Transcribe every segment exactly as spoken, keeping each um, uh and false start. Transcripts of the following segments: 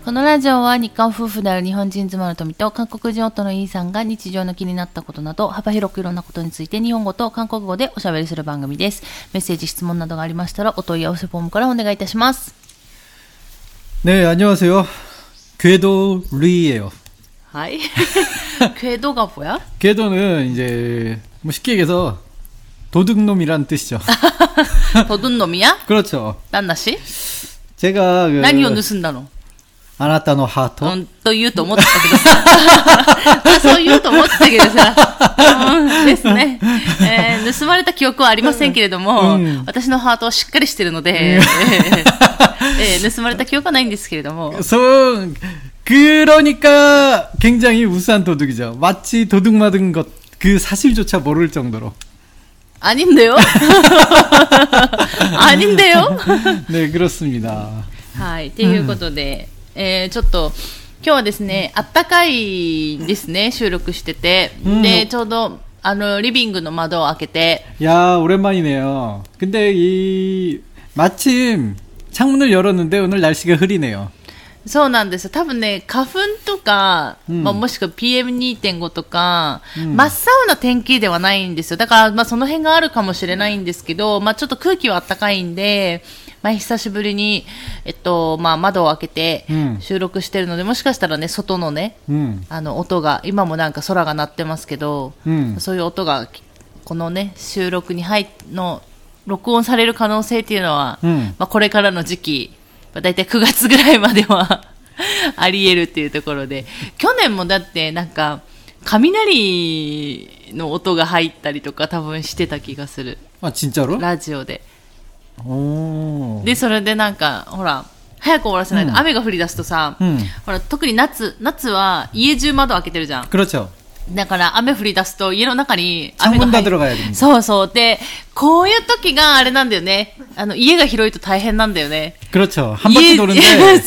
このラジオは日韓夫婦である日本人妻の富と韓国人夫のイーさんが日常の気になったことなど幅広くいろんなことについて日本語と韓国語でおしゃべりする番組です。メッセージ質問などがありましたらお問い合わせフォームからお願いいたします。 네, 안녕하세요. 궤도리예요. 하이. 궤도가 뭐야? 궤도는 이제 뭐 쉽게 얘기해서 도둑놈이란 뜻이죠. 도둑놈이야? 그렇죠. 딴나씨? 제가 그 何を盗んだの? あなたのハート? うん、と言うと思ってたけどさそう言うと思ってたけどさ、うん、ですね、えー、盗まれた記憶はありませんけれども、うん、私のハートはしっかりしてるので、うんえー、盗まれた記憶はないんですけれどもそう그러니까 굉장히 우수한 도둑이죠. 마치 도둑 맞은 것 그 사실조차 모를 정도로. 아닌데요? 아닌데요? 네, 그렇습니다. はい、ということで、うんえー、ちょっと今日はですね、あったかいですね、収録してて、うん、でちょうどあのリビングの窓を開けて、 야 오랜만이네요. 근데 이 마침 창문을 열었는데 오늘 날씨가 흐리네요. そうなんです。多分ね、花粉とか、うんまあ、もしくは ピーエムにてんご とか、うん、真っ青な天気ではないんですよ。だから、まあ、その辺があるかもしれないんですけど、まあ、ちょっと空気は暖かいんで、まあ、久しぶりに、えっと、まあ、窓を開けて収録してるので、うん、もしかしたらね、外のね、うん、あの、音が、今もなんか空が鳴ってますけど、うん、そういう音が、このね、収録に入の、録音される可能性っていうのは、うんまあ、これからの時期、だいたいくがつぐらいまではあり得るっていうところで、去年もだってなんか雷の音が入ったりとか多分してた気がする。 あ、진짜로? ラジオで。おー。で、それでなんかほら早く終わらせないと、うん、雨が降り出すとさ、うん、ほら特に夏夏は家中窓開けてるじゃん。 그렇죠。 だから雨降り出すと家の中に雨が入る。 そうそうでこういう時があれなんだよね。あの家が広いと大変なんだよね。 그렇죠。한 바퀴 도는데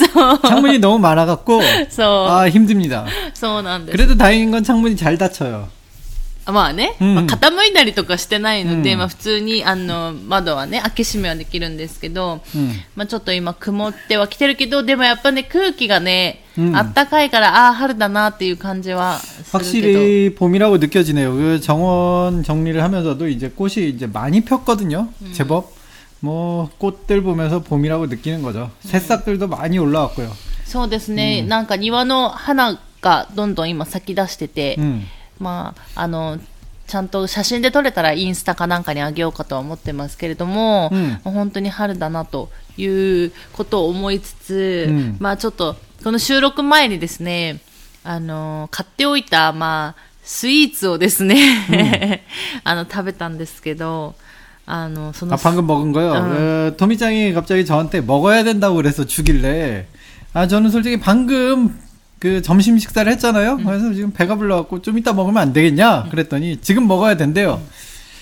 창문이 너무 많아갖고 아 힘듭니다。 そうなんです。 그래도 다행인 건 창문이 잘 닫혀요。 まあね、うんまあ、傾いたりとかしてないので、うんまあ、普通にあの窓はね開け閉めはできるんですけど、うんまあ、ちょっと今曇ってはきてるけどでもやっぱね空気がね、うん、あったかいからああ春だなっていう感じはするけど 확실히 봄이라고 느껴지네요. 그 정원 정리를 하면서도 이제 꽃이 이제 많이 폈거든요. 음. 제법 뭐 꽃들 보면서 봄이라고 느끼는 거죠. 새싹들도 음. 많이 올라왔고요. そうですね、うん、なんか庭の花がどんどん今咲き出してて、うんまあ、あのちゃんと写真で撮れたらインスタかなんかにあげようかとは思ってますけれども、うん、本当に春だなということを思いつつ、うん、まあちょっとこの収録前にですねあの買っておいた、まあ、スイーツをですね、うん、あの食べたんですけどあのその 아, 방금 먹은 거요? 어. 토미짱이 갑자기 저한테 먹어야 된다고 그래서 주길래 아 저는 솔직히 방금 그 점심 식사를 했잖아요. 음. 그래서 지금 배가 불러갖고 좀 이따 먹으면 안 되겠냐? 그랬더니 지금 먹어야 된대요. 음.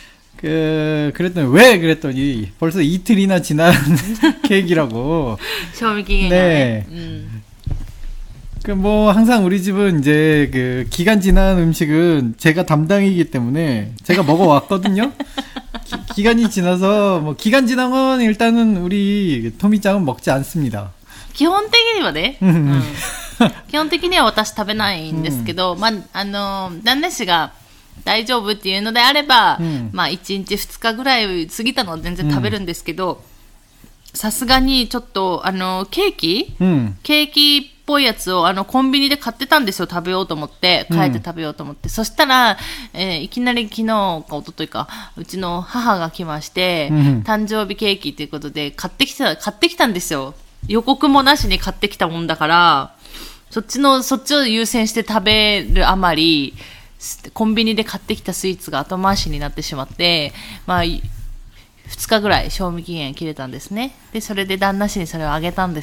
그 그랬더니 왜? 그랬더니 벌써 이틀이나 지난 케이크라고. 賞味期限. 네. 음. 그 뭐 항상 우리 집은 이제 그 기간 지난 음식은 제가 담당이기 때문에 제가 먹어왔거든요. 기, 기간이 지나서 뭐 기간 지난 건 일단은 우리 토미짱은 먹지 않습니다. 基本的にはね、うん、基本的には私食べないんですけど、うんまあ、あの旦那氏が大丈夫っていうのであれば、うんまあ、いちにちふつかぐらい過ぎたのは全然食べるんですけどさすがにちょっとあのケーキ、うん、ケーキっぽいやつをあのコンビニで買ってたんですよ食べようと思って帰って食べようと思って、うん、そしたら、えー、いきなり昨日か一昨日かうちの母が来まして、うん、誕生日ケーキということで買ってきた買ってきたんですよ。予告もなしに買ってきたもんだからそっちのそっちを優先して食べるあまりコンビニで買ってきたスイーツが後回しになってしまってまあふつかぐらい賞味期限切れたんですね。でそれで旦那氏にそれをあげたんです。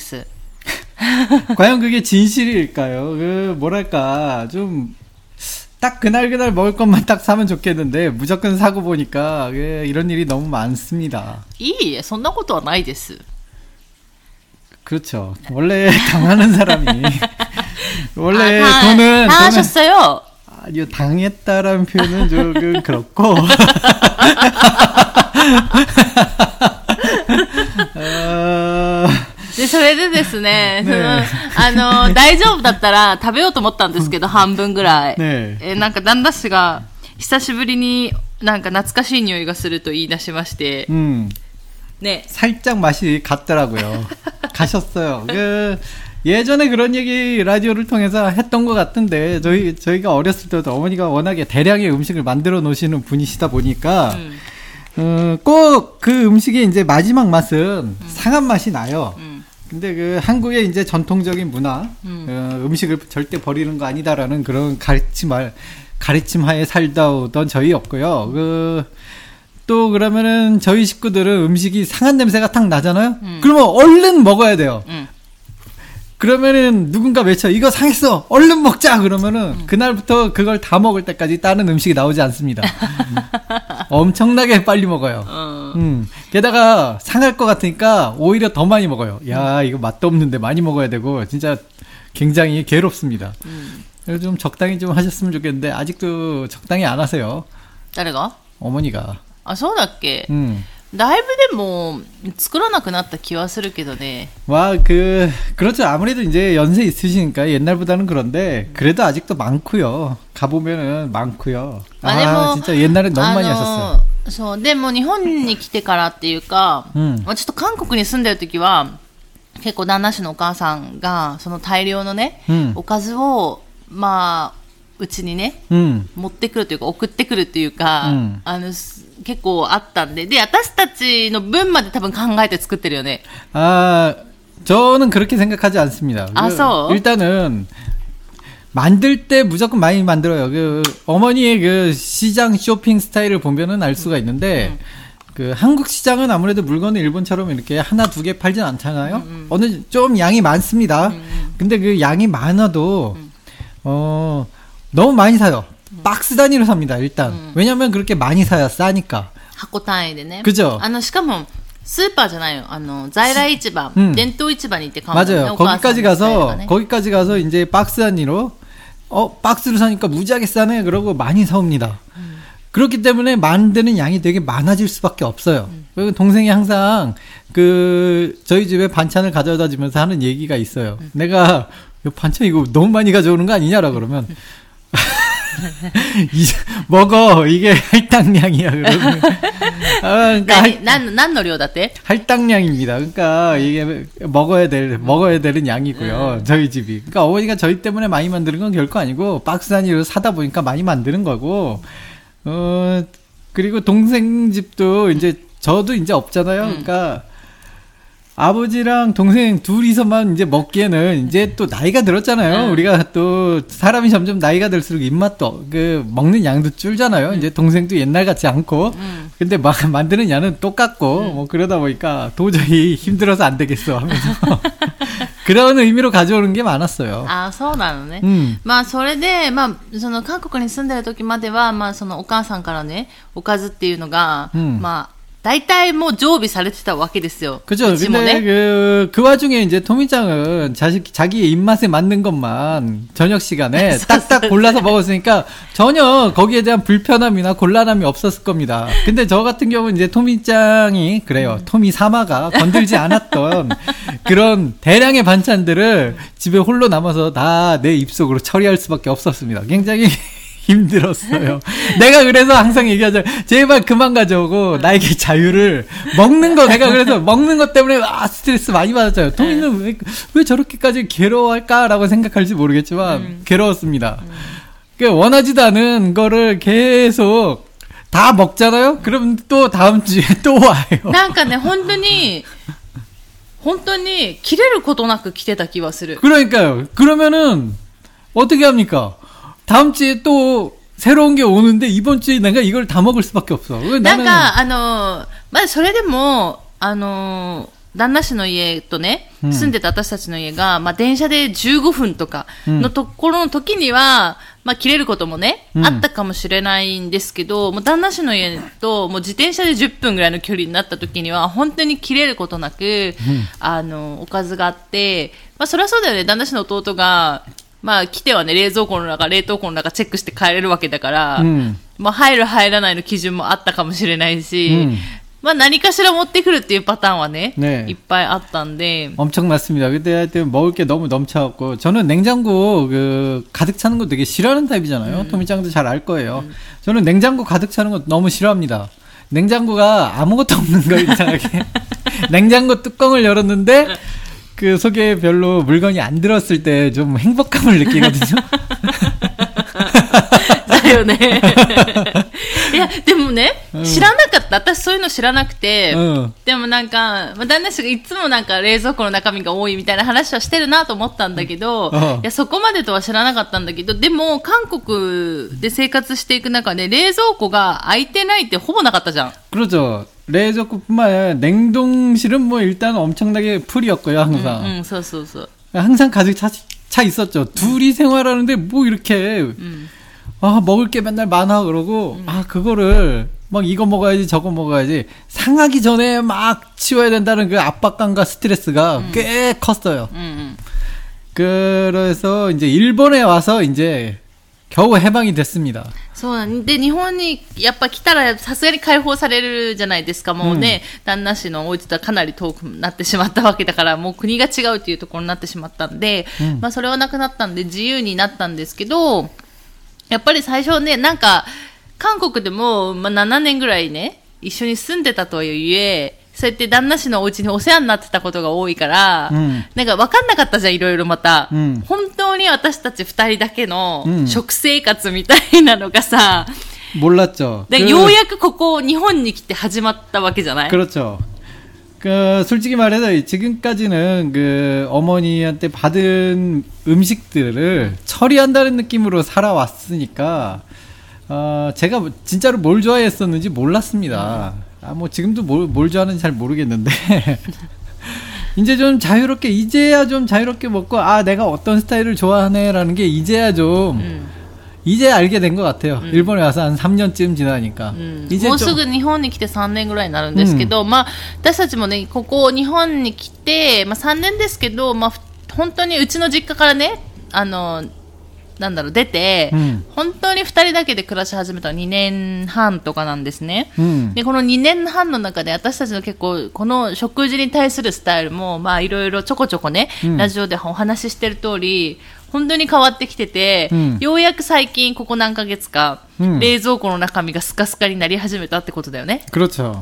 과연 그게 진실일까요? 그 뭐랄까 좀 딱 그날 그날 먹을 것만 딱 사면 좋겠는데 무조건 사고 보니까 이런 일이 너무 많습니다. いいえそんなことはないです。 그렇죠. 원래 당하는 사람이 원래 아, 다, 돈은 다 하셨어요. 아니요 당했다라는 표현은 조금 그렇고 어... でそれれでですね、ねあの、大丈夫だったら食べようと思ったんですけど、半分ぐらい。ね、えなんか旦那氏が、久しぶりになんか懐かしい匂いがすると言い出しまして、 음. 네. 살짝 맛이 같더라고요. 가셨어요. 그 예전에 그런 얘기 라디오를 통해서 했던 것 같은데, 저희 저희가 어렸을 때도 어머니가 워낙에 대량의 음식을 만들어 놓으시는 분이시다 보니까 음. 어, 꼭 그 음식의 이제 마지막 맛은 음. 상한 맛이 나요. 음. 근데 그 한국의 이제 전통적인 문화, 음. 어, 음식을 절대 버리는 거 아니다라는 그런 가르침을 가르침하에 살다 오던 저희였고요. 그, 또 그러면은 저희 식구들은 음식이 상한 냄새가 탁 나잖아요? 음. 그러면 얼른 먹어야 돼요. 음. 그러면은 누군가 외쳐, 이거 상했어! 얼른 먹자! 그러면은 음. 그날부터 그걸 다 먹을 때까지 다른 음식이 나오지 않습니다. 엄청나게 빨리 먹어요. 어. 음. 게다가 상할 것 같으니까 오히려 더 많이 먹어요. 야, 이거 맛도 없는데 많이 먹어야 되고, 진짜 굉장히 괴롭습니다. 음. 그래서 좀 적당히 좀 하셨으면 좋겠는데, 아직도 적당히 안 하세요. 誰が? 어머니가. 아, そうだっけ? 음. だいぶでも作らなくなった気はするけどね. 와, 그, 그렇죠. 아무래도 이제 연세 있으시니까 옛날보다는 그런데, 그래도 아직도 많고요. 가보면은 많고요. 아, 아 진짜 옛날엔 너무 많이 하셨어요. そう、でも日本に来てからっていうか、うん、ちょっと韓国に住んでる時は、結構旦那氏のお母さんが、その大量のね、うん、おかずを、まあ、うちにね、うん、持ってくるというか、送ってくるというか、うん、あの、結構あったんで、で、私たちの分まで多分考えて作ってるよね。 아, 저는 그렇게 생각하지 않습니다. 아, 그, 일단은, 만들 때 무조건 많이 만들어요. 그, 어머니의 그 시장 쇼핑 스타일을 보면은 알 수가 있는데, 음. 그, 한국 시장은 아무래도 물건을 일본처럼 이렇게 하나, 두 개 팔진 않잖아요? 음, 음. 어느, 좀 양이 많습니다. 음. 근데 그 양이 많아도, 음. 어, 너무 많이 사요. 박스 단위로 삽니다, 일단. 음. 왜냐면 그렇게 많이 사야 싸니까. 箱単位でね. 그죠? あの、しかも、スーパーじゃないよ。あの、在来市場、うん、伝統市場に行って買うのね。 맞아요. 거기까지 가서, 거기까지 가서 이제 박스 단위로, 어, 박스로 사니까 무지하게 싸네. 그러고 많이 사옵니다. 음. 그렇기 때문에 만드는 양이 되게 많아질 수밖에 없어요. 음. 동생이 항상 그, 저희 집에 반찬을 가져다 주면서 하는 얘기가 있어요. 음. 내가, 반찬 이거 너무 많이 가져오는 거 아니냐라 그러면, 이, 먹어. 이게 할당량이야. 그러면. 아, 그러니까 할, 난, 난 노려だって? 할당량입니다. 그러니까 이게 먹어야 될, 먹어야 되는 양이고요. 음. 저희 집이. 그러니까 어머니가 저희 때문에 많이 만드는 건 결코 아니고, 박스 단위로 사다 보니까 많이 만드는 거고, 어, 그리고 동생 집도 이제, 저도 이제 없잖아요. 음. 그러니까, 아버지랑 동생 둘이서만 이제 먹기에는 이제 또 나이가 들었잖아요. 음. 우리가 또 사람이 점점 나이가 들수록 입맛도 그 먹는 양도 줄잖아요. 음. 이제 동생도 옛날 같지 않고. 음. 근데 막 만드는 양은 똑같고 음. 뭐 그러다 보니까 도저히 힘들어서 안 되겠어 하면서 그런 의미로 가져오는 게 많았어요. 아, そうなのね。まあそれでまあその韓国に住んでる時まではまあそのお母さんからねおかずっていうのがまあ大体もう常備されてたわけですよ. 그죠. 근데 그, 그 와중에 이제 토미짱은 자식, 자기의 입맛에 맞는 것만 저녁 시간에 딱딱 골라서 먹었으니까 전혀 거기에 대한 불편함이나 곤란함이 없었을 겁니다. 근데 저 같은 경우는 이제 토미짱이, 그래요. 토미 사마가 건들지 않았던 그런 대량의 반찬들을 집에 홀로 남아서 다 내 입속으로 처리할 수밖에 없었습니다. 굉장히 힘들었어요. 내가 그래서 항상 얘기하죠. 제발 그만 가져오고 나에게 자유를. 먹는 거 내가 그래서 먹는 것 때문에 아 스트레스 많이 받았어요. 토미는 왜, 왜 저렇게까지 괴로워할까라고 생각할지 모르겠지만 음. 괴로웠습니다. 음. 그러니까 원하지도 않은 거를 계속 다 먹잖아요. 그럼 또 다음 주에 또 와요. なんかね本当に本当に切れることなく来てた気はする. 그러니까요. 그러면은 어떻게 합니까? 다음 주에 또 새로운 게 오는데 이번 주에 내가 이걸 다 먹을 수밖에 없어. なんかあのまあそれでもあの旦那氏の家とね、うん、住んでた私たちの家がまあ電車でじゅうごふんとかのところの時には、うん、まあ切れることもね、うん、あったかもしれないんですけど、もう旦那氏の家ともう自転車でじゅっぷんぐらいの距離になった時には本当に切れることなく、うん、あのおかずがあって、まあそれはそうだよね。旦那氏の弟がまあ来てはね冷蔵庫の中冷凍庫の中チェックして帰れるわけだから、うん、まあ入る入らないの基準もあったかもしれないし、うん、 まあ何かしら持ってくるっていうパターンはね、 네. いっぱいあったんで 엄청났습니다. 그때 하여튼 먹을 게 너무 넘쳐갖고 저는 냉장고 그 가득 차는 거 되게 싫어하는 타입이잖아요. 음. 토미짱도 잘 알 거예요. 음. 저는 냉장고 가득 차는 거 너무 싫어합니다. 냉장고가 아무것도 없는 거 이상하게 냉장고 뚜껑을 열었는데 그 속에 별로 물건이 안 들었을 때 좀 행복감을 느끼거든요. だよね。いや、でもね、うん、知らなかった。私そういうの知らなくて、うん、でもなんか、まあ、旦那氏がいつもなんか冷蔵庫の中身が多いみたいな話はしてるなと思ったんだけど、うん、いや、そこまでとは知らなかったんだけど、でも、韓国で生活していく中で冷蔵庫が空いてないってほぼなかったじゃん。 그렇죠.冷蔵庫뿐만 아니라 냉동실은 뭐 일단 엄청나게 풀이었고요, 항상. 응, 응, そうそうそう. 항상 가득 차, 차 있었죠. 둘이 생활하는데 뭐 이렇게 음. 아 먹을 게 맨날 많아 그러고 음. 아 그거를 막 이거 먹어야지 저거 먹어야지 상하기 전에 막 치워야 된다는 그 압박감과 스트레스가 음. 꽤 컸어요. 음. 그래서 이제 일본에 와서 이제 겨우 해방이 됐습니다. そうなんで、日本にやっぱ来たらさすがに解放されるじゃないですか。もうね、うん、旦那氏のお家とはかなり遠くなってしまったわけだから、もう国が違うっていうところになってしまったんで、うん、まあそれはなくなったんで自由になったんですけど、やっぱり最初ね、なんか韓国でも、まあ、ななねんぐらいね、一緒に住んでたとはいえ、そうやって旦那氏のお家にお世話になってたことが多いから、うん、なんか分かんなかったじゃん、いろいろまた、うん、本当に私たち二人だけの食生活みたいなのがさ、 うん、몰랐죠. 그, ようやくここ日本に来て始まったわけじゃない? 그렇죠. 그 솔직히 말해서 지금까지는 그 어머니한테 받은 음식들을 처리한다는 느낌으로 살아왔으니까 어, 제가 진짜로 뭘 좋아했었는지 몰랐습니다. 아, 뭐 지금도 뭘, 뭘 좋아하는지 잘 모르겠는데 이제 좀 자유롭게 이제야 좀 자유롭게 먹고 아 내가 어떤 스타일을 좋아하네라는 게 이제야 좀 음. 이제 알게 된 것 같아요. 음. 일본에 와서 한 삼 년쯤 지나니까. 음. もうすぐ日本に来てさんねんぐらいになるんですけど、まあ私たちもねここ日本に来てまあさんねんですけど、まあ本当にうちの実家からねあのなんだろう出て、うん、本当にふたりだけで暮らし始めたのはにねんはんとかなんですね、うん、でこのにねんはんの中で私たちの結構この食事に対するスタイルもまあいろいろちょこちょこね、うん、ラジオでお話ししてる通り本当に変わってきてて、うん、ようやく最近ここ何ヶ月か、うん、冷蔵庫の中身がスカスカになり始めたってことだよね。 그렇죠.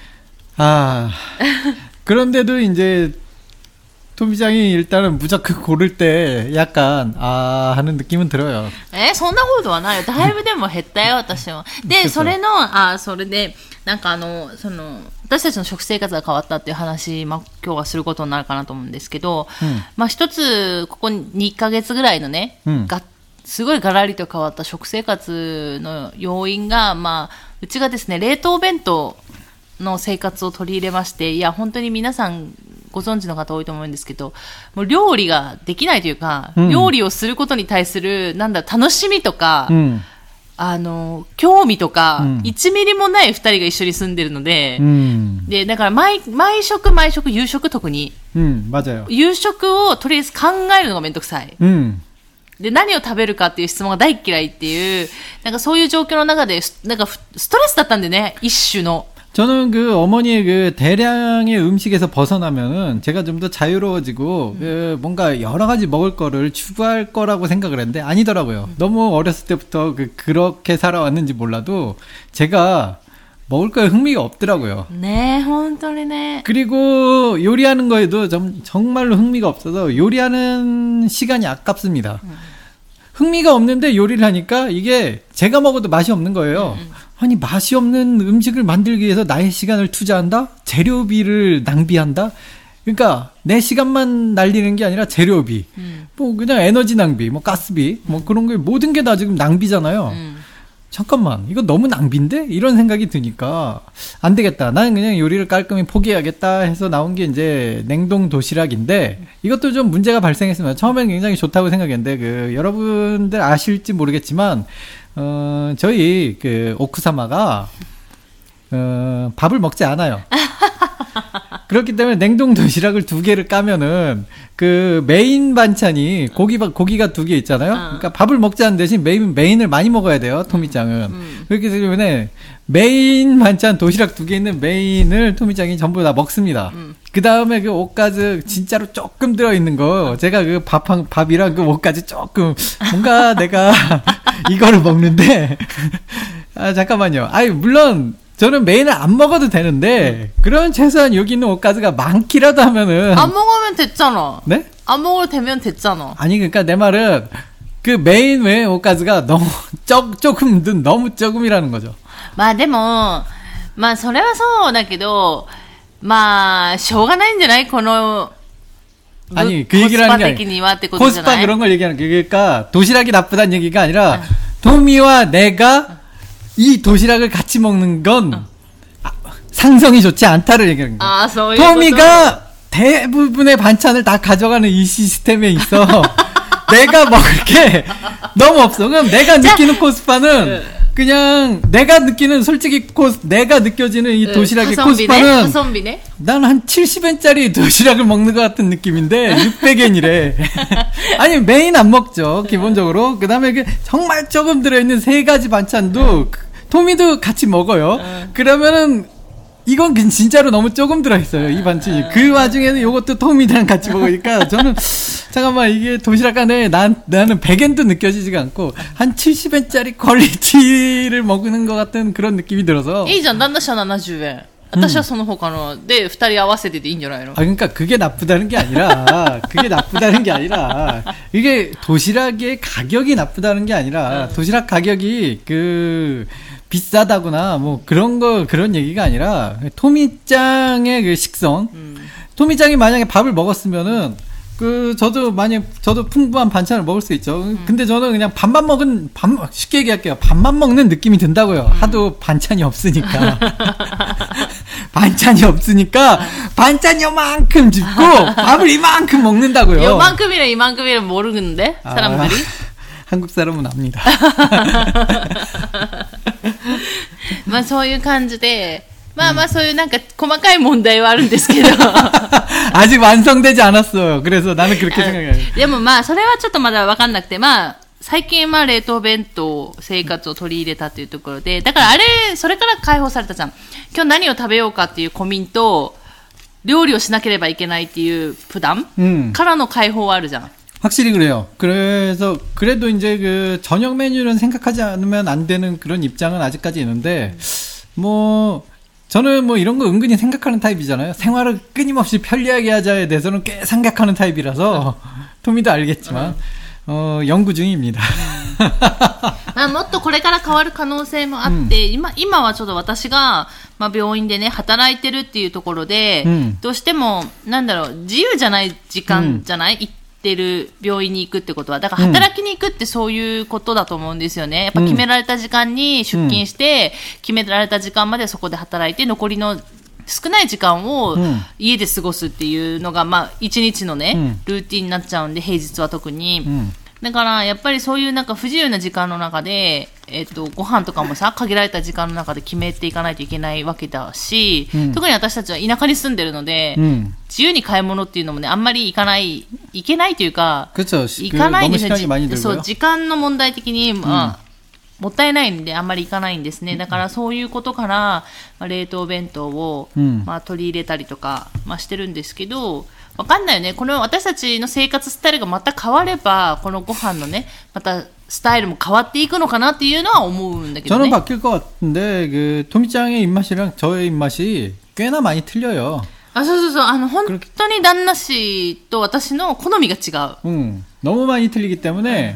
아 그런데도 이제 토미짱이 일단은 무조건 고를 때 약간 아 하는 느낌은 들어요. え、そんなことはないよ。だいぶでも減ったよ私は。で、それのあそれでなんかあのその私たちの食生活が変わったっていう話、まあ今日はすることになるかなと思うんですけど、うん、まあ一つここにかげつぐらいのね、うん、がすごいガラリと変わった食生活の要因がまあうちがですね冷凍弁当の生活を取り入れまして、いや本当に皆さんご存知の方多いと思うんですけど、もう料理ができないというか、うん、料理をすることに対するなんだ楽しみとか、うん、あの興味とか、うん、いちミリもないふたりが一緒に住んでるので、うん、でだから毎毎食毎食夕食特に、 うん、맞아요。 夕食をとりあえず考えるのがめんどくさい。うん、で何を食べるかっていう質問が大嫌いっていうなんかそういう状況の中でなんかストレスだったんでね一種の。 저는 그 어머니의 그 대량의 음식에서 벗어나면은 제가 좀 더 자유로워지고 음. 그 뭔가 여러 가지 먹을 거를 추구할 거라고 생각을 했는데 아니더라고요. 음. 너무 어렸을 때부터 그 그렇게 살아왔는지 몰라도 제가 먹을 거에 흥미가 없더라고요. 네, 혼돈이네. 그리고 요리하는 거에도 좀 정말로 흥미가 없어서 요리하는 시간이 아깝습니다. 음. 흥미가 없는데 요리를 하니까 이게 제가 먹어도 맛이 없는 거예요. 음. 아니 맛이 없는 음식을 만들기 위해서 나의 시간을 투자한다? 재료비를 낭비한다? 그러니까 내 시간만 날리는 게 아니라 재료비, 음. 뭐 그냥 에너지 낭비, 뭐 가스비, 뭐 그런 게 모든 게 다 지금 낭비잖아요. 음. 잠깐만 이거 너무 낭비인데? 이런 생각이 드니까 안 되겠다. 나는 그냥 요리를 깔끔히 포기해야겠다 해서 나온 게 이제 냉동 도시락인데 이것도 좀 문제가 발생했습니다. 처음에는 굉장히 좋다고 생각했는데 그 여러분들 아실지 모르겠지만 어, 저희, 그, 오쿠사마가, 어, 밥을 먹지 않아요. 그렇기 때문에 냉동 도시락을 두 개를 까면은 그 메인 반찬이 고기 고기가 두 개 있잖아요. 그러니까 밥을 먹지 않는 대신 메인 메인을 많이 먹어야 돼요. 토미짱은. 음. 그렇기 때문에 메인 반찬 도시락 두 개 있는 메인을 토미짱이 전부 다 먹습니다. 음. 그 다음에 그 오카즈 진짜로 조금 들어 있는 거 제가 그 밥한 밥이랑 그 오카즈 조금 뭔가 내가 이거를 먹는데 아 잠깐만요. 아니 물론. 저는 메인을 안 먹어도 되는데 그러면 최소한 여기 있는 오카즈가 많기라도 하면은 안 먹으면 됐잖아. 네? 안 먹어도 되면 됐잖아. 아니 그러니까 내 말은 그 메인 외에 오카즈가 너무 적 조금 너무 조금이라는 거죠. まあでもまあそれはそうだけどまあしょうがないんじゃないこの 아니 그 얘기를 하는 게 아니라 코스파 그런 걸 얘기하는 게 그러니까 도시락이 나쁘다는 얘기가 아니라 응. 도미와 내가 이 도시락을 같이 먹는 건 어. 상성이 좋지 않다를 얘기하는 거예요. 아, 토미가 대부분의 반찬을 다 가져가는 이 시스템에 있어 내가 먹을 게 너무 없어. 그럼 내가 느끼는 코스파는 그냥 내가 느끼는 솔직히 코스 내가 느껴지는 이 도시락의 코스파는 난 한 칠십 엔짜리 도시락을 먹는 것 같은 느낌인데 육백 엔이래. 아니 메인 안 먹죠 기본적으로. 그 다음에 그 정말 조금 들어있는 세 가지 반찬도 토미도 같이 먹어요. 그러면은 이건 진짜로 너무 조금 들어있어요 이 반찬이. 그 와중에는 요것도 토미랑 같이 먹으니까 저는 잠깐만 이게 도시락 안에 난, 나는 백 엔도 느껴지지가 않고 한 칠십 엔짜리 퀄리티를 먹는 것 같은 그런 느낌이 들어서. いいじゃん旦那氏は칠십 엔私はその他のでふたり合わせてでいいんじゃないの? 아 그러니까 그게 나쁘다는 게 아니라 그게 나쁘다는 게 아니라 이게 도시락의 가격이 나쁘다는 게 아니라 도시락 가격이 그 비싸다거나 뭐 그런 거 그런 얘기가 아니라 토미짱의 그 식성. 음. 토미짱이 만약에 밥을 먹었으면은 그 저도 만약 저도 풍부한 반찬을 먹을 수 있죠. 음. 근데 저는 그냥 밥만 먹은 밥 쉽게 얘기할게요. 밥만 먹는 느낌이 든다고요. 음. 하도 반찬이 없으니까. 반찬이 없으니까 반찬 요만큼 줍고 밥을 이만큼 먹는다고요. 요만큼이랑 이만큼이랑 모르는데 사람들이. 아, 한국 사람은 압니다. まあそういう感じでまあまあそういうなんか細かい問題はあるんですけど 아직 완성되지 않았어요. 그래서 나는 그렇게 생각해요. でもまあそれはちょっとまだ分かんなくてまあ最近まあ冷凍弁当生活を取り入れたというところでだからあれそれから解放されたじゃん。今日何を食べようかっていう고민と料理をしなければいけないっていう부담 음. からの解放はあるじゃん。 확실히 그래요. 그래서 그래도 이제 그 저녁 메뉴는 생각하지 않으면 안 되는 그런 입장은 아직까지 있는데 뭐 저는 뭐 이런 거 은근히 생각하는 타입이잖아요. 생활을 끊임없이 편리하게 하자에 대해서는 꽤 생각하는 타입이라서 토미도 알겠지만 어, 연구 중입니다. まあもっとこれから変わる可能性もあって、うん、今今はちょっと私がまあ病院でね働いてるっていうところで、うん、どうしてもなんだろう自由じゃない時間じゃない。うんてる病院に行くってことはだから働きに行くってそういうことだと思うんですよね。やっぱ決められた時間に出勤して、うん、決められた時間までそこで働いて残りの少ない時間を家で過ごすっていうのがまあ一日のね、うん、ルーティンになっちゃうんで平日は特に、うん、だからやっぱりそういうなんか不自由な時間の中でえっとご飯とかもさ限られた時間の中で決めていかないといけないわけだし、うん、特に私たちは田舎に住んでるので、うん、自由に買い物っていうのもねあんまり行かない行けないというか行かないんですね。そう時間の問題的にまあ、うん、もったいないんであんまり行かないんですね。だからそういうことから、まあ、冷凍弁当を、うんまあ、取り入れたりとか、まあ、してるんですけどわかんないよね。この私たちの生活スタイルがまた変わればこのご飯のねまたスタイルも変わっていくのかなっていうのは思うんだけどね。 저는 바뀔 것 같은데 그 토미짱의 입맛이랑 저의 입맛이 꽤나 많이 틀려요. あ、そうそうそう。あの本当に旦那氏と私の好みが違う。 음, 너무 많이 틀리기 때문에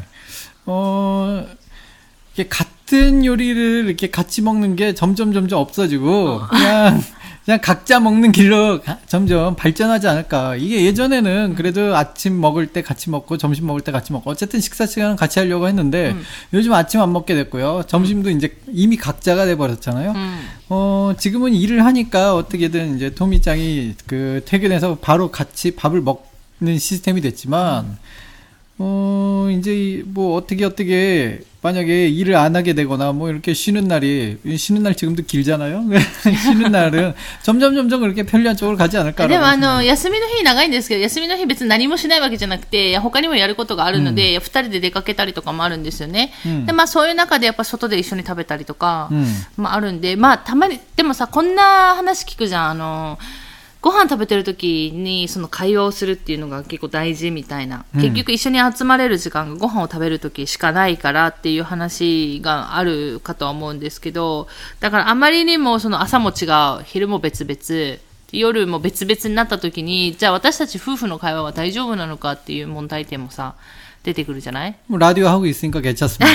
어 이게 같은 요리를 이렇게 같이 먹는 게 점점 점점 없어지고 어. 그냥 그냥 각자 먹는 길로 점점 발전하지 않을까. 이게 예전에는 그래도 아침 먹을 때 같이 먹고 점심 먹을 때 같이 먹고 어쨌든 식사 시간은 같이 하려고 했는데 음. 요즘 아침 안 먹게 됐고요. 점심도 음. 이제 이미 각자가 돼버렸잖아요. 음. 어, 지금은 일을 하니까 어떻게든 이제 토미짱이 그 퇴근해서 바로 같이 밥을 먹는 시스템이 됐지만 음. 어, 이제 뭐 어떻게 어떻게 만약에 일을 안 하게 되거나 뭐 이렇게 쉬는 날이 쉬는 날 지금도 길잖아요. 쉬는 날은 점점 점점 그렇게 편리한 쪽으로 가지 않을까. でもあの休みの日長いんですけど、休みの日別に何もしないわけじゃなくて、他にもやることがあるので、二、うん、人で出かけたりとかもあるんですよね。うん、でまあそういう中でやっぱ外で一緒に食べたりとか、うん、まああるんで、まあたまにでもさこんな話聞くじゃん。あのご飯食べてる時にその会話をするっていうのが結構大事みたいな、うん、結局一緒に集まれる時間がご飯を食べる時しかないからっていう話があるかとは思うんですけど、だからあまりにもその朝も違う、昼も別々、夜も別々になった時に、じゃあ私たち夫婦の会話は大丈夫なのかっていう問題点もさ出てくるじゃない？ もうラジオ하고 있으니까 괜찮습니다。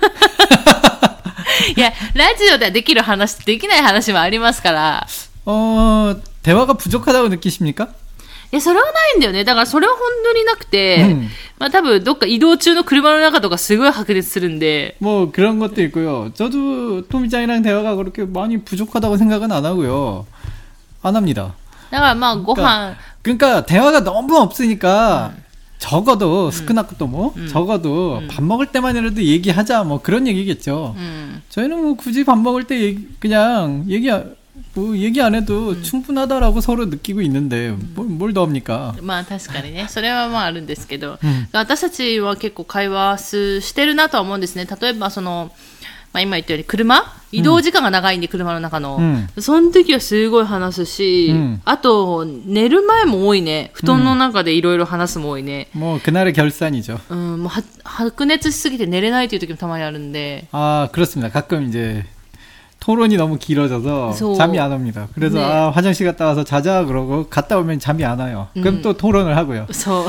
いやラジオではできる話できない話もありますから。 어 대화가 부족하다고 느끼십니까? いやそれはないんだよね。だからそれは本当になくて、うん、まあ多分どっか移動中の車の中とかすごい白熱するんで。 뭐 그런 것도 있고요. 저도 토미짱이랑 대화가 그렇게 많이 부족하다고 생각은 안 하고요. 안 합니다. だからまあご飯 그러니까, 그러니까 대화가 너무 없으니까 음. 적어도 스크나크도 뭐 음. 적어도 음. 밥 먹을 때만이라도 얘기하자 뭐 그런 얘기겠죠. 음. 저희는 뭐 굳이 밥 먹을 때 얘기, 그냥 얘기 뭐 얘기 안 해도 음. 충분하다라고 서로 느끼고 있는데 뭘, 뭘 더 합니까? まあ確かにね、それはまああるんですけど、うん、私たちは結構会話してるなとは思うんですね。例えばその、まあ、今言ったように車移動時間が長いんで、うん、車の中の、うん、その時はすごい話すし、うん、あと寝る前も多いね。布団の中でいろいろ話すも多いね。 もう그날의 결산이죠。 うん、もうは白熱しすぎて寝れないという時もたまにあるんで。 ああ、그렇습니다。가끔 이제 토론이 너무 길어져서 소... 잠이 안 옵니다. 그래서 네. 아, 화장실 갔다 와서 자자 그러고 갔다 오면 잠이 안 와요. 그럼 음. 또 토론을 하고요. そう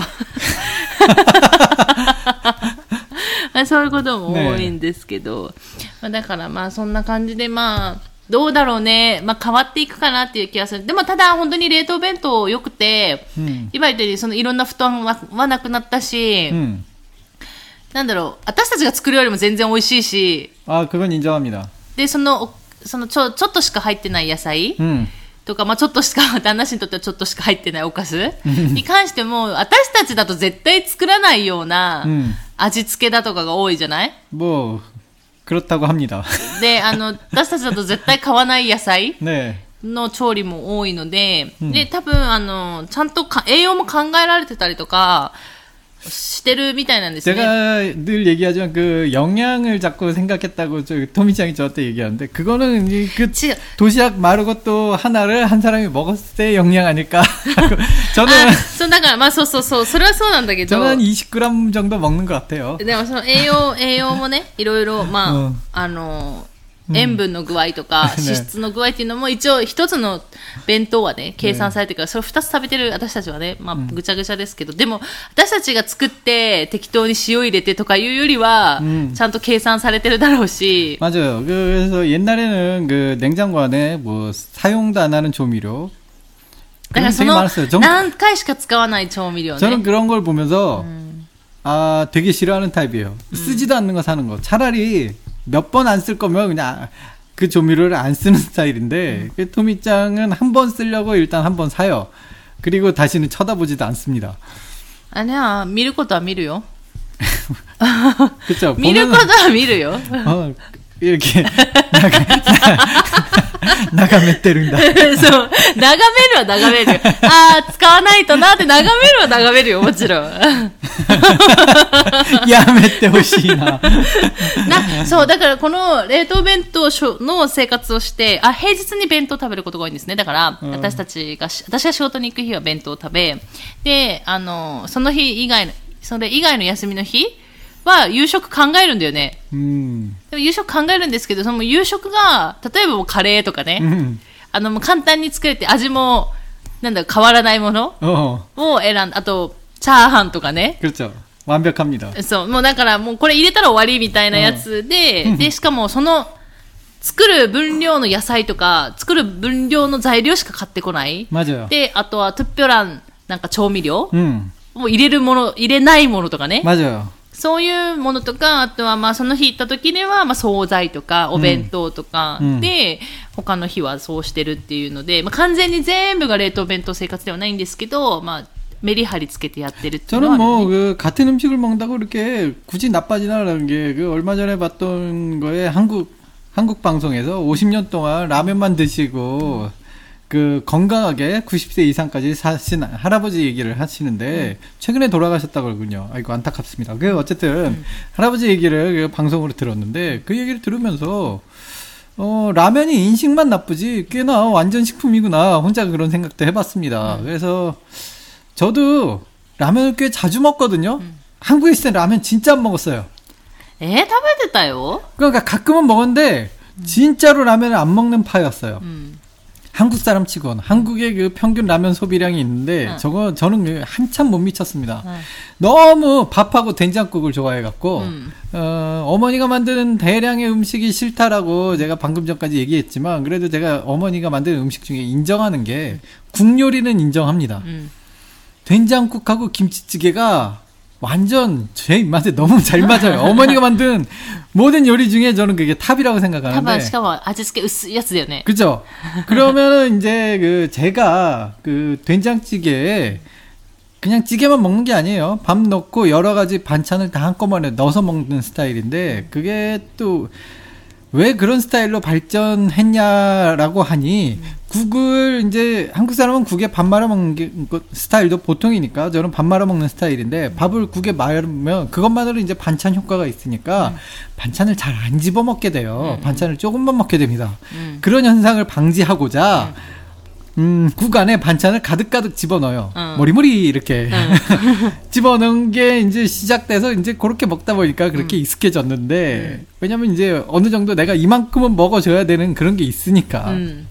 そういうことも多いんですけど、ね、まあ、だからまあそんな感じでまあどうだろうね、まあ、変わっていくかなっていう気がする。でもただ本当に冷凍弁当良くて、うん、今言ったようにそのいろんな布団は、はなくなったし、うん、なんだろう、私たちが作るよりも全然美味しいし、 あ、그건 인정합니다。 でそのそのちょ、ちょっとしか入ってない野菜、うん、とか、まあ、ちょっとしか、旦那氏にとってはちょっとしか入ってないおかずに関しても、私たちだと絶対作らないような味付けだとかが多いじゃない？ もう、그렇다고 합니다。 で、あの、私たちだと絶対買わない野菜の調理も多いので、ね、で、多分、あの、ちゃんとか栄養も考えられてたりとか、してるみたいなんですね。 제가 늘 얘기하지만 그 영양을 자꾸 생각했다고 저 토미짱이 저한테 얘기하는데 그거는 그 도시락 마르고 또 하나를 한 사람이 먹었을 때 영양 아닐까? 저는 아, そうだからまあそうそうそうそれはそうなんだけど 저는 이십 그램 정도 먹는 것 같아요. でもその栄養栄養もねいろいろまあ、うん、あの塩分の具合とか、うん、脂質の具合っていうのも一応一つの弁当はね計算されてるから、それを二つ食べてる私たちはね、まあぐちゃぐちゃですけど、でも私たちが作って適当に塩入れてとかいうよりは、ちゃんと計算されてるだろうし。 맞아요。그래서 옛날에는 그 냉장고 안에 뭐 사용도 안 하는 조미료。 だからその何回しか使わない調味料ね。 저는 그런 걸 보면서 음. 아 되게 싫어하는 타입이에요. 음. 쓰지도 않는 거 사는 거. 차라리 몇 번 안 쓸 거면 그냥 그 조미료를 안 쓰는 스타일인데 음. 토미짱은 한 번 쓰려고 일단 한 번 사요. 그리고 다시는 쳐다보지도 않습니다. 아니야, 미룰 것도 안 미루요. 그쵸. 미룰 것도 안 미루요. 어, 이렇게眺めてるんだ。そう、 眺めるは眺めるよ。ああ、使わないとなって眺めるは眺めるよ、もちろん。 やめてほしいな。 な、そう、だからこの冷凍弁当の生活をして、あ、平日に弁当食べることが多いんですね。だから、うん、私たちが、私が仕事に行く日は弁当を食べ、で、あの、その日以外の、それ以外の休みの日は夕食考えるんだよね。うん、でも夕食考えるんですけど、その夕食が、例えばもうカレーとかね、うん、あの、もう簡単に作れて味も、なんだろう、変わらないものを選んだ。あと、チャーハンとかね。 그렇죠。완벽합니다。 そう、もうだからもうこれ入れたら終わりみたいなやつで、うん、で、しかもその、作る分量の野菜とか、作る分量の材料しか買ってこない。 맞아요。 で、あとは、トゥッピョラン、なんか調味料、うん、もう入れるもの、入れないものとかね。 맞아요。 そういうものとか、あとはまあその日行った時にはまあ惣菜とかお弁当とかで、うん、他の日はそうしてるっていうので、まあ、完全に全部が冷凍弁当生活ではないんですけど、まあメリハリつけてやってるっていう 저는 のはある 뭐 よね。 그 같은 음식을 먹는다고 이렇게 굳이 나빠지나라는 게 그 얼마 전에 봤던 거에 한국 한국 방송에서 오십 년 동안 라면만 드시고 그 건강하게 구십 세 이상까지 사신 할아버지 얘기를 하시는데 음. 최근에 돌아가셨다고 그러군요. 아이고 안타깝습니다. 그 어쨌든 음. 할아버지 얘기를 그 방송으로 들었는데 그 얘기를 들으면서 어 라면이 인식만 나쁘지 꽤나 완전 식품이구나 혼자 그런 생각도 해봤습니다. 음. 그래서 저도 라면을 꽤 자주 먹거든요. 음. 한국에 있을 때 라면 진짜 안 먹었어요. 에? 食べてたよ? 그러니까 가끔은 먹었는데 진짜로 라면을 안 먹는 파였어요. 음. 한국 사람 치곤 한국의 그 평균 라면 소비량이 있는데 응. 저거 저는 한참 못 미쳤습니다. 응. 너무 밥하고 된장국을 좋아해갖고 응. 어, 어머니가 만드는 대량의 음식이 싫다라고 제가 방금 전까지 얘기했지만 그래도 제가 어머니가 만드는 음식 중에 인정하는 게 국 요리는 인정합니다. 응. 된장국하고 김치찌개가 완전 제 입맛에 너무 잘 맞아요. 어머니가 만든 모든 요리 중에 저는 그게 탑이라고 생각하는데. しかも味付け薄いやつだよね. 그죠? 그러면은 이제 그 제가 그 된장찌개에 그냥 찌개만 먹는 게 아니에요. 밥 넣고 여러 가지 반찬을 다 한꺼번에 넣어서 먹는 스타일인데 그게 또 왜 그런 스타일로 발전했냐라고 하니 국을 이제 한국 사람은 국에 밥 말아 먹는 게 스타일도 보통이니까 저는 밥 말아 먹는 스타일인데 밥을 국에 말으면 그것만으로 이제 반찬 효과가 있으니까 음. 반찬을 잘 안 집어 먹게 돼요. 음. 반찬을 조금만 먹게 됩니다. 음. 그런 현상을 방지하고자 음. 음, 국 안에 반찬을 가득가득 집어넣어요. 어. 머리머리 이렇게 어. 집어넣은 게 이제 시작돼서 이제 그렇게 먹다 보니까 그렇게 음. 익숙해졌는데 음. 왜냐면 이제 어느 정도 내가 이만큼은 먹어줘야 되는 그런 게 있으니까 음.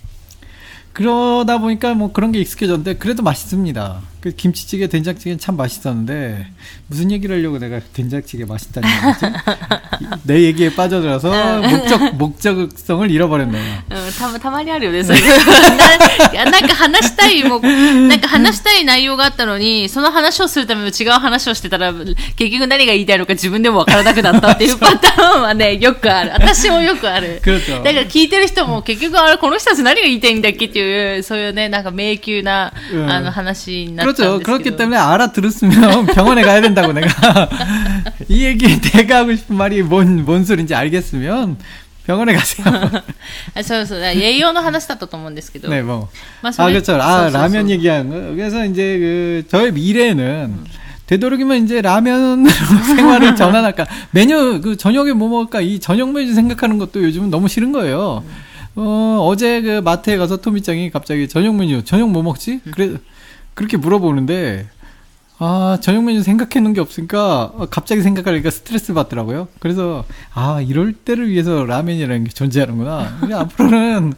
그러다 보니까 뭐 그런 게 익숙해졌는데 그래도 맛있습니다. 그 김치찌개, 된장찌개는 참 맛있었는데 무슨 얘기를 하려고 내가 된장찌개 맛있다는 거지? 내 얘기에 빠져들어서 목적 목적성을 잃어버렸네요. たまたまにあるよね。それななんか話したいもなんか話したい内容があったのにその話をするための違う話をしてたら結局何が言いたいのか自分でもわからなくなったっていうパターンはねよくある。私もよくある。だから聞いてる人も結局あれこの人たち何が言いたいんだっけっていうそういうねなんか迷宮な、うん、あの話になったんですけど。 그렇기 때문에 알아들었으면 병원에 가야 된다고 내가 이 얘기에 내가 하고 싶은 말이 뭔, 뭔 소리인지 알겠으면 병원에 가세요. そうそう栄養の話だったと思うんですけど 네, 뭐. 아, 그렇죠. 아, 라면 얘기한 거. 그래서 이제 그 저의 미래는 음. 되도록이면 이제 라면으로 생활을 전환할까. 메뉴 그 저녁에 뭐 먹을까 이 저녁 메뉴 생각하는 것도 요즘은 너무 싫은 거예요. 음. 어, 어제 그 마트에 가서 토미짱이 갑자기 저녁 메뉴 저녁 뭐 먹지? 음. 그래 그렇게 물어보는데 아 저녁 메뉴 생각해 놓은 게 없으니까 갑자기 생각하니까 스트레스 받더라고요. 그래서 아 이럴 때를 위해서 라면이라는 게 존재하는구나. 그냥 앞으로는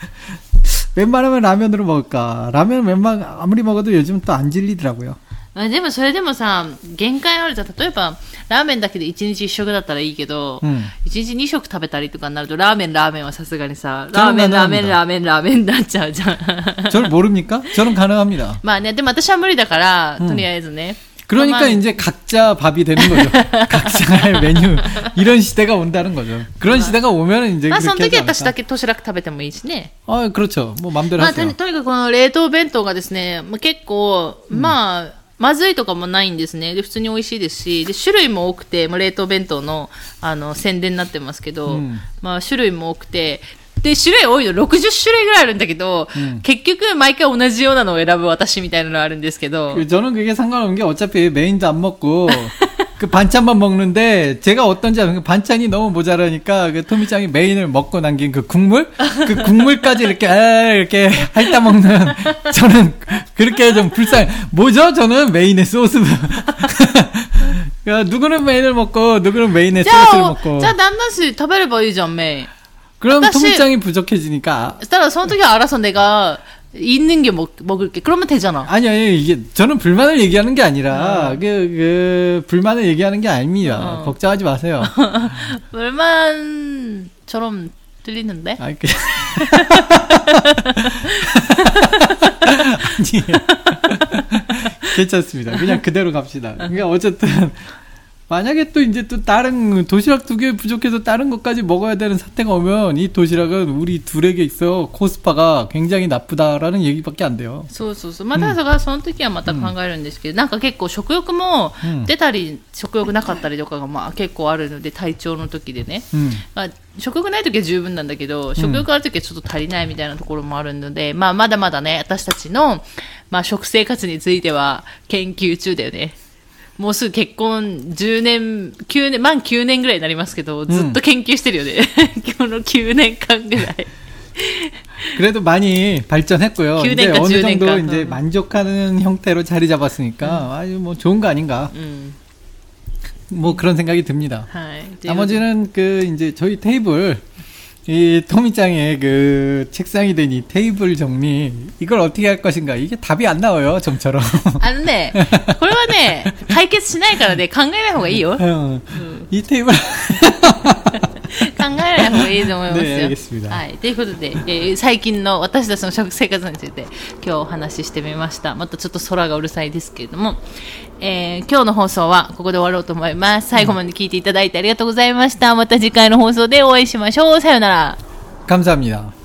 웬만하면 라면으로 먹을까. 라면 웬만 아무리 먹어도 요즘 또 안 질리더라고요. でもそれでもさ限界あるじゃん。例えばラーメンだけでいちにちいっ食だったらいいけど、うん、いちにちに食食べたりとかになるとラーメンラーメンはさすがにさラーメンラーメンラーメンラーメンになっちゃうじゃん。 저를 모릅니까? 저는 가능합니다. まあねでも私は無理だから、うん、とりあえずね。 그러니까 이제 각자 밥이 되는 거죠. 각자의 메뉴 이런 시대가 온다는 거죠. 그런 시대가 오면 이제 그렇게 하지 않을까. その時私だけ도시락食べてもいいしね。 아, 그렇죠. 뭐 맘대로 하세요. まあとにかくこの冷凍弁当がですね、結構まあまずいとかもないんですね。で普通に美味しいですし、で種類も多くて、まあ、冷凍弁当のあの宣伝になってますけど、うん、まあ種類も多くて。 で種類多いのろくじゅっ種類ぐらいあるんだけど、음. 結局毎回同じようなのを選ぶ私みたいなのがあるんですけど 저는 그게 상관없는 게 어차피 메인도 안 먹고 그 반찬만 먹는데 제가 어떤지 아는 반찬이 너무 모자라니까 그 토미짱이 메인을 먹고 남긴 그 국물 그 국물까지 이렇게 아, 이렇게 핥아 먹는 저는 그렇게 좀 불쌍해. 뭐죠? 저는 메인에 소스 누구는 메인을 먹고 누구는 메인에 소스를 먹고. 자, 남나씨 食べればいいじゃん 메인. 그럼 토미짱이 부족해지니까. そしたらその時は알아서 내가 있는 게 먹, 먹을게. 그러면 되잖아. 아니, 아니, 이게, 저는 불만을 얘기하는 게 아니라, 어. 그, 그, 불만을 얘기하는 게 아닙니다. 어. 걱정하지 마세요. 불만처럼 들리는데? 아니, 그... 아니에요. 괜찮습니다. 그냥 그대로 갑시다. 그러니까 어쨌든, 만약에 또 이제 또 다른 도시락 두 개 부족해서 다른 것까지 먹어야 되는 사태가 오면 이 도시락은 우리 둘에게 있어 코스파가 굉장히 나쁘다라는 얘기밖에 안 돼요. そうそうそう。まあ、ただそれはその時はまた考えるんですけど、なんか結構食欲も出たり、食欲なかったりとかがまあ結構あるので、体調の時でね。まあ、食欲ない時は十分なんだけど、食欲ある時はちょっと足りないみたいなところもあるので、まあ、まだまだね、私たちの、まあ、食生活については研究中だよね。もうすぐ結婚じゅうねん、きゅうねん、満きゅうねんぐらいになりますけど、ずっと研究してるよね。今日のきゅうねんかんぐらい。 그래도 많이 발전했고요. 이제 어느 정도 이제 만족하는 형태로 자리 잡았으니까 음. 아주 뭐 좋은 거 아닌가. 음. 뭐 그런 생각이 듭니다. 나머지는 그 이제 저희 테이블 이 토미짱의 그 책상이 된 이 테이블 정리 이걸 어떻게 할 것인가 이게 답이 안 나와요 좀처럼. あのね、これはね解決しないからね考えない方がいいよ。 이 테이블 考えない方がいいと思いますよ。 ね、알겠습니다。 はい。ということで、えー、最近の私たちの食生活について今日お話ししてみました。またちょっと空がうるさいですけれども、えー、今日の放送はここで終わろうと思います。最後まで聞いていただいてありがとうございました。また次回の放送でお会いしましょう。さようなら。 감사합니다。